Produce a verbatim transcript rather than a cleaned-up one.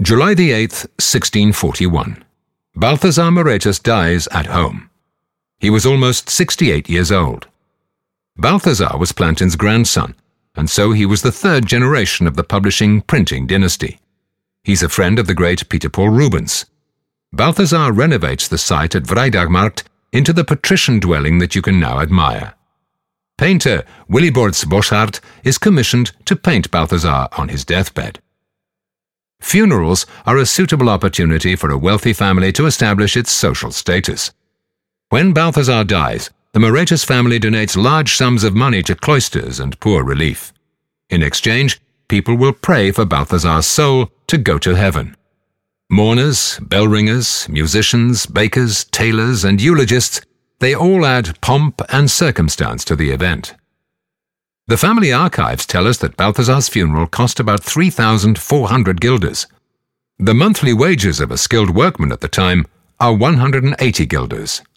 July the eighth, sixteen forty-one. Balthazar Moretus dies at home. He was almost sixty-eight years old. Balthazar was Plantin's grandson, and so he was the third generation of the publishing printing dynasty. He's a friend of the great Peter Paul Rubens. Balthazar renovates the site at Vrijdagmarkt into the patrician dwelling that you can now admire. Painter Willibrords Bosschaert is commissioned to paint Balthazar on his deathbed. Funerals are a suitable opportunity for a wealthy family to establish its social status. When Balthazar dies, the Moretus family donates large sums of money to cloisters and poor relief. In exchange, people will pray for Balthazar's soul to go to heaven. Mourners, bell ringers, musicians, bakers, tailors, and eulogists, they all add pomp and circumstance to the event. The family archives tell us that Balthazar's funeral cost about three thousand four hundred guilders. The monthly wages of a skilled workman at the time are one hundred eighty guilders.